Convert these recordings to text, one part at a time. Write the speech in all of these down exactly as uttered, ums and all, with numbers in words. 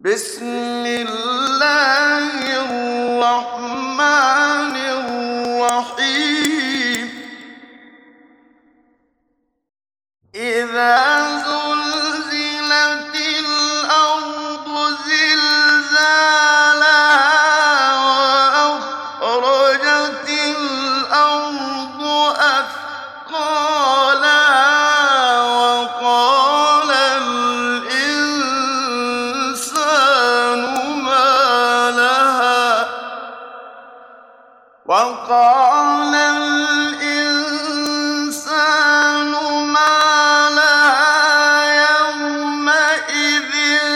بسم الله الرحمن الرحيم إذا زلزلت الأرض زلزالها وأخرجت الأرض أثقالها وقال الإنسان ما لها وقال الإنسان ما لها يومئذ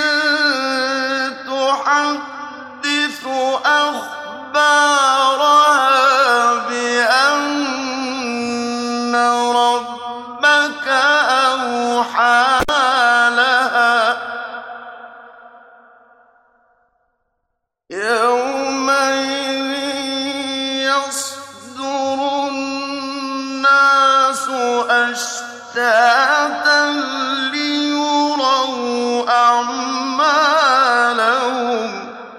تحدث أخبارها بأن ربك أوحى لها يومئذ يصدر الناس أشتاتا ليروا أعمالهم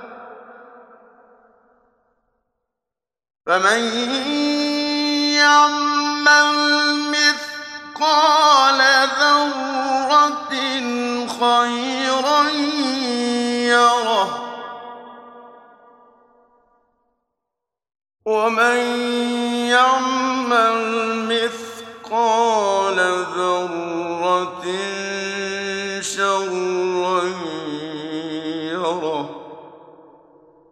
فمن يعمل مثقال ذرة خيرا يره ومن يعمل مثقال ذرة